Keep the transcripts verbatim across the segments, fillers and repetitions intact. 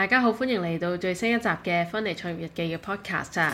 大家好，歡迎嚟到最新一集嘅《芬尼創業日記》嘅 podcast 啊！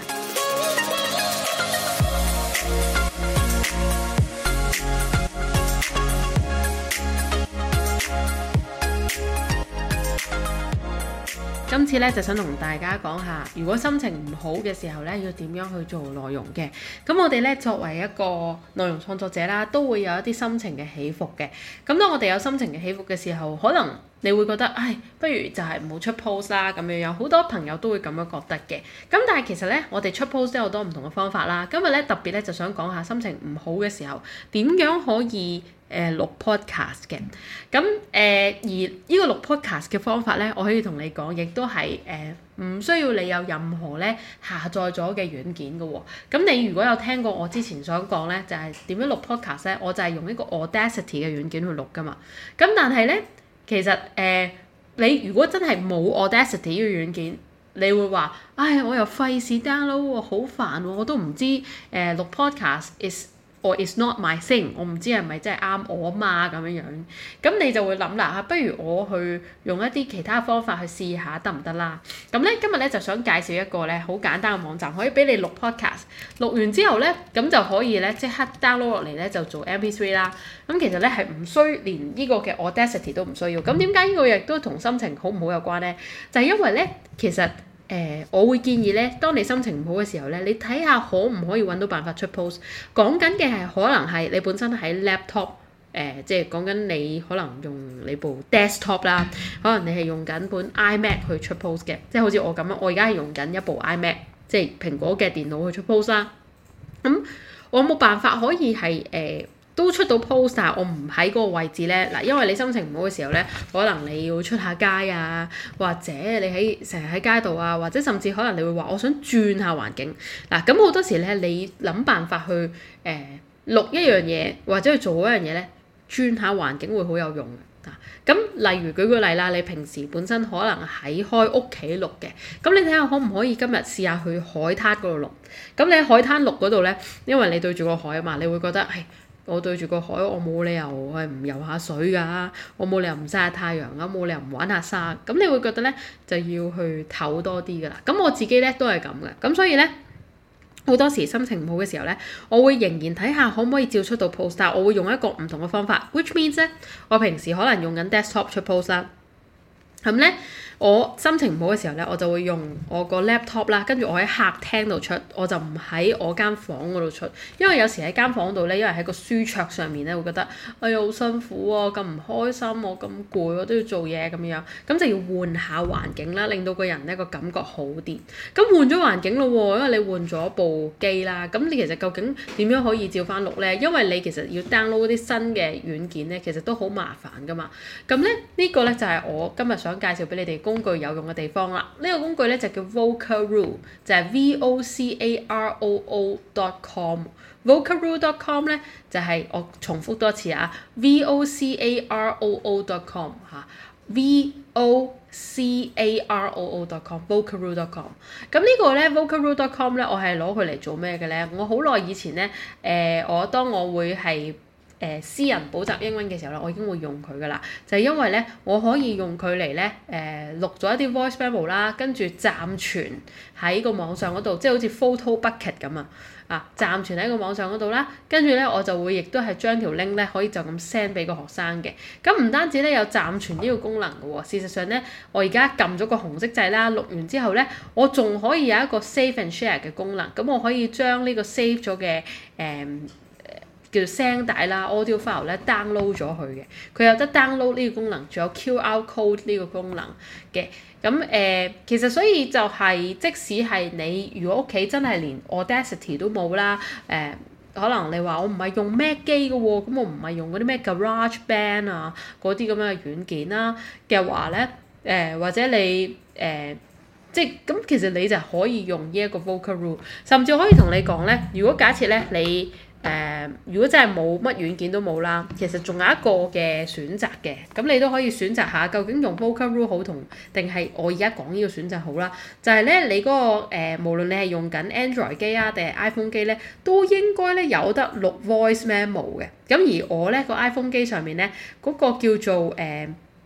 今次咧就想同大家講下，如果心情唔好嘅時候咧，要點樣去做內容嘅。咁我哋咧作為一個內容創作者啦，都會有一啲心情嘅起伏嘅。咁當我哋有心情嘅起伏嘅時候，可能你會覺得，唉，不如就係唔好出 post 啦咁樣樣。好多朋友都會咁樣覺得嘅。咁但係其實咧，我哋出 post 都有好多唔同嘅方法啦。今日咧特別咧就想講下心情唔好嘅時候，點樣可以誒錄 podcast 嘅。咁誒、呃、而呢個錄 podcast 嘅方法咧，我可以同你講，亦都係誒唔需要你有任何咧下載咗嘅軟件嘅喎。咁你如果有聽過我之前所講咧，就係、是、點樣錄 podcast 咧，我就係用一個 Audacity 嘅軟件去錄噶嘛。咁但係咧，其實誒、呃、你如果真係冇 Audacity 呢個軟件，你會話，唉，我又費事 download 喎，好煩喎，我都唔知誒、呃、錄 podcast is or is not my thing， 我唔知係咪真係啱我啊嘛咁樣樣。咁你就會諗啦嚇，不如我去用一啲其他方法去試下得唔得啦？咁咧今日咧就想介紹一個咧好簡單嘅網站，可以俾你錄 podcast， 錄完之後咧咁就可以咧即刻 download 落嚟咧就做 M P 三 啦。咁其實咧係唔需連呢個嘅 Audacity 都唔需要。咁點解呢個亦都同心情好唔好有關咧？就係、是、因為咧其實。誒、呃，我會建議咧，當你心情唔好嘅時候咧，你睇下可唔可以揾到辦法出 post。講緊嘅係可能係你本身喺 laptop，誒、呃，即係講緊你可能用你部 desktop 啦，可能你係用緊本 iMac 去出 post 嘅，即係好似我咁樣，我而家係用緊一部 iMac，即係蘋果嘅電腦去出 post 啦。咁、嗯、我冇辦法可以係誒。呃都出到 post， 但係我唔喺嗰個位置咧。嗱，因為你心情唔好嘅時候咧，可能你要出下街啊，或者你喺成日喺街度啊，或者甚至可能你會話我想轉下環境。嗱，咁好多時咧，你諗辦法去誒、呃、錄一樣嘢，或者去做一樣嘢咧，轉下環境會好有用嘅。咁例如舉個例啦，你平時本身可能喺開屋企錄嘅，咁你睇下可唔可以今日試下去海灘嗰度錄。咁你喺海灘錄嗰度咧，因為你對住個海啊嘛，你會覺得係。我對住個海，我冇理由係唔游下水㗎，我冇理由唔曬下太陽啊，冇理由唔玩下沙，咁你會覺得咧就要去唞多啲㗎啦。咁我自己咧都係咁嘅，咁所以咧好多時心情唔好嘅時候咧，我會仍然睇下可唔可以照出到 post， 但我會用一個唔同嘅方法 ，which means 咧我平時可能用緊 desktop 出 post 啦，咁咧。我心情唔好嘅時候咧，我就會用我個 laptop 啦，跟住我喺客廳度出，我就唔喺我間房嗰度出，因為有時喺間房度咧，因為喺個書桌上面咧，會覺得哎呀好辛苦啊，咁唔開心，我咁攰，我都要做嘢咁樣，咁就要換下環境啦，令到個人咧個感覺好啲。咁換咗環境咯喎，因為你換咗部機啦，咁你其實究竟點樣可以照翻錄咧？因為你其實要 download 啲新嘅軟件咧，其實都好麻煩噶嘛。咁咧呢個咧就係我今日想介紹俾你哋工具有用嘅地方啦，呢、這個工具咧就叫 Vocaroo， 就係 V O C A R O O dot com。Vocaroo dot com 咧就係、是、我重複多次啊 ，V O C A R O O dot com 嚇 ，V O C A R O O dot com，Vocaroo dot com。咁呢個咧 Vocaroo dot com 咧，我係攞佢嚟做咩嘅咧？我好耐以前咧，誒、呃，我當我會係。誒、呃、私人補習英文嘅時候咧，我已經會用佢噶啦，就係、是、因為咧，我可以用佢嚟咧誒錄咗一啲 voice memo 啦，跟住暫存喺個網上嗰度，即係好似 photo bucket 咁啊，啊暫存喺個網上嗰度啦，跟住咧我就會亦都係將條 link 咧可以就咁 send 俾個學生嘅。咁唔單止咧有暫存呢個功能嘅喎，事實上咧我而家撳咗個紅色掣啦，錄完之後咧，我仲可以有一個 save and share 嘅功能，咁我可以將呢個 save 咗嘅誒。呃叫做聲帶啦 audio file 咧 download 咗佢嘅，佢有得 download 呢個功能，仲有 Q R code 呢個功能嘅。咁誒、呃，其實所以就係、是、即使係你如果屋企真係連 Audacity 都冇啦，誒、呃，可能你話我唔係用 Mac 機嘅喎，咁我唔係用嗰啲咩 GarageBand 啊嗰啲咁樣嘅軟件啦嘅話咧，誒、呃、或者你誒、呃、即係咁，其實你就可以用呢一個 Vocaroo， 甚至可以同你講咧，如果假設咧你誒、呃，如果真係冇乜軟件都冇啦，其實仲有一個嘅選擇嘅，咁你都可以選擇下究竟用 Vocaroo 好同定係我而家講呢個選擇好啦。就係、是、咧，你嗰、那個誒、呃，無論你係用緊 Android 機啊定係 iPhone 機咧，都應該咧有得錄 voice memo 嘅。咁而我咧個 iPhone 機上面咧嗰、那個叫做誒。呃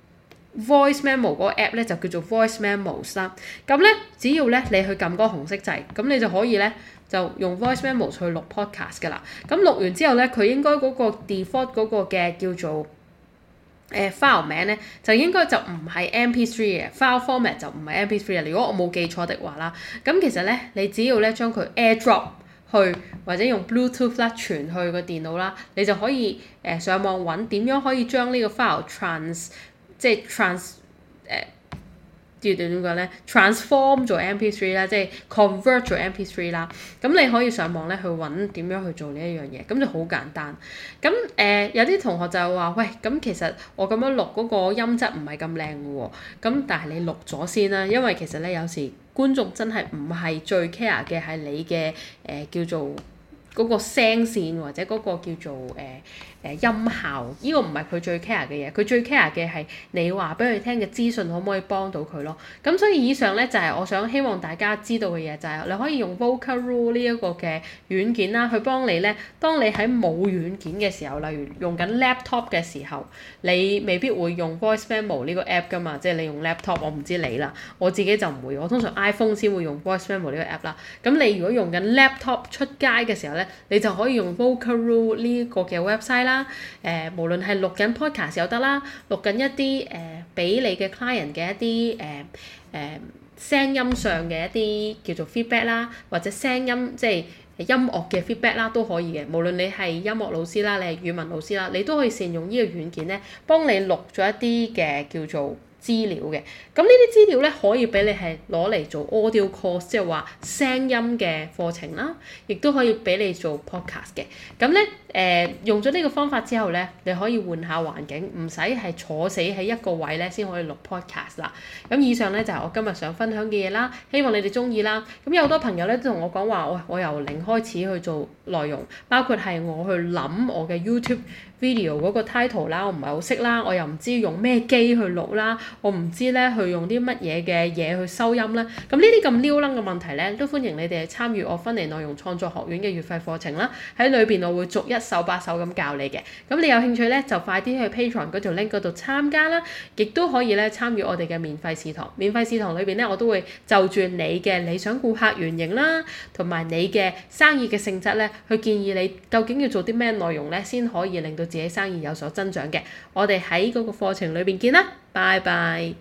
voice memo 嗰個 app 咧就叫做 voice memos 啦。咁咧只要咧你去撳嗰個紅色掣，咁你就可以咧就用 voice memos 去錄 podcast 㗎啦。咁錄完之後咧，佢應該嗰個 default 嗰個嘅叫做誒、呃、file 名咧，就應該就唔係 M P three 嘅 file format 就唔係 M P three 啊。如果我冇記錯的話啦，咁其實咧你只要咧將佢 airdrop 去或者用 Bluetooth 啦傳去個電腦啦，你就可以誒、呃、上網揾點樣可以將呢個 file trans 即係 trans 誒、呃，叫點講咧 transform 做 M P three 啦，即係 convert 做 M P three 啦。咁你可以上網咧去揾點樣去做呢一樣嘢，咁就好簡單。咁誒、呃、有啲同學就話：喂，咁其實我咁樣錄嗰個音質唔係咁靚嘅喎。咁但係你錄咗先啦，因為其實咧有時觀眾真係唔係最 care 嘅係你嘅誒、呃、叫做嗰個聲線或者嗰個叫做誒誒、呃呃、音效，呢、這個唔係佢最 care 嘅嘢，佢最 care 嘅係你話俾佢聽嘅資訊可唔可以幫到佢咯。咁所以以上咧就係、是、我想希望大家知道嘅嘢，就係、是、你可以用 Vocaloid 呢一個嘅軟件啦，去幫你咧。當你喺冇軟件嘅時候，例如用緊 laptop 嘅時候，你未必會用 Voice Memo 呢個 app 噶嘛，即係你用 laptop， 我唔知你啦，我自己就唔會，我通常 iPhone 先會用 Voice Memo 呢個 app 啦。咁你如果用緊 laptop 出街嘅時候咧，你就可以用 Vocaloid 呢個嘅 website 啦。誒、呃，無論係錄緊 podcast 又得啦，錄緊一啲誒俾你嘅 client 嘅一啲誒誒聲音上嘅一啲叫做 feedback 啦，或者聲音即係音樂嘅 feedback 啦都可以嘅。無論你係音樂老師啦，你係語文老師啦，你都可以善用呢個軟件咧，幫你錄咗一啲嘅叫做資料嘅。咁呢啲資料咧可以俾你係攞嚟做 audio course， 即係話聲音嘅課程啦，亦都可以俾你做 podcast 嘅。咁咧誒用咗呢個方法之後咧，你可以換下環境，唔使係坐死喺一個位咧先可以錄 podcast 啦。咁以上咧就係、是、我今日想分享嘅嘢啦，希望你哋中意啦。咁有好多朋友咧都同我講話，喂，我由零開始去做內容，包括係我去諗我嘅 YouTube video 嗰個 title 啦，我唔係好識啦，我又唔知用咩機去錄啦，我唔知咧去用啲乜嘢嘅嘢去收音啦。咁呢啲咁撩楞嘅問題咧，都歡迎你哋參與我芬尼內容創作學院嘅月費課程啦。喺裏邊我會逐一手把手咁教你嘅。咁你有興趣咧，就快啲去 Patreon 嗰條 link 嗰度參加啦，亦都可以咧參與我哋嘅免費試堂。免費試堂裏邊咧，我都會就住你嘅理想顧客原型啦，同埋你嘅生意嘅性質咧，去建議你究竟要做啲咩內容咧，先可以令到自己生意有所增長嘅。我哋喺嗰個課程裏邊見啦，拜拜。